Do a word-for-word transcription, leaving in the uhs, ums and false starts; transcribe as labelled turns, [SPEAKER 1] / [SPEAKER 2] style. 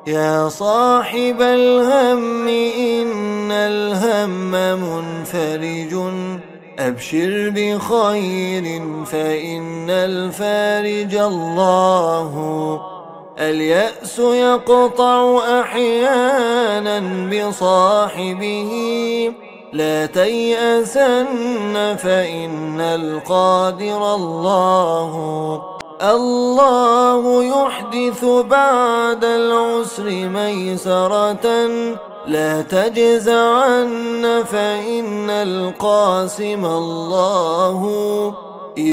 [SPEAKER 1] يا صاحب الهم إن الهم منفرج، أبشر بخير فإن الفارج الله. اليأس يقطع أحيانا بصاحبه، لا تيأسن فإن القادر الله. الله يحدث بعد العسر ميسرة، لا تجزعن فإن القاسم الله.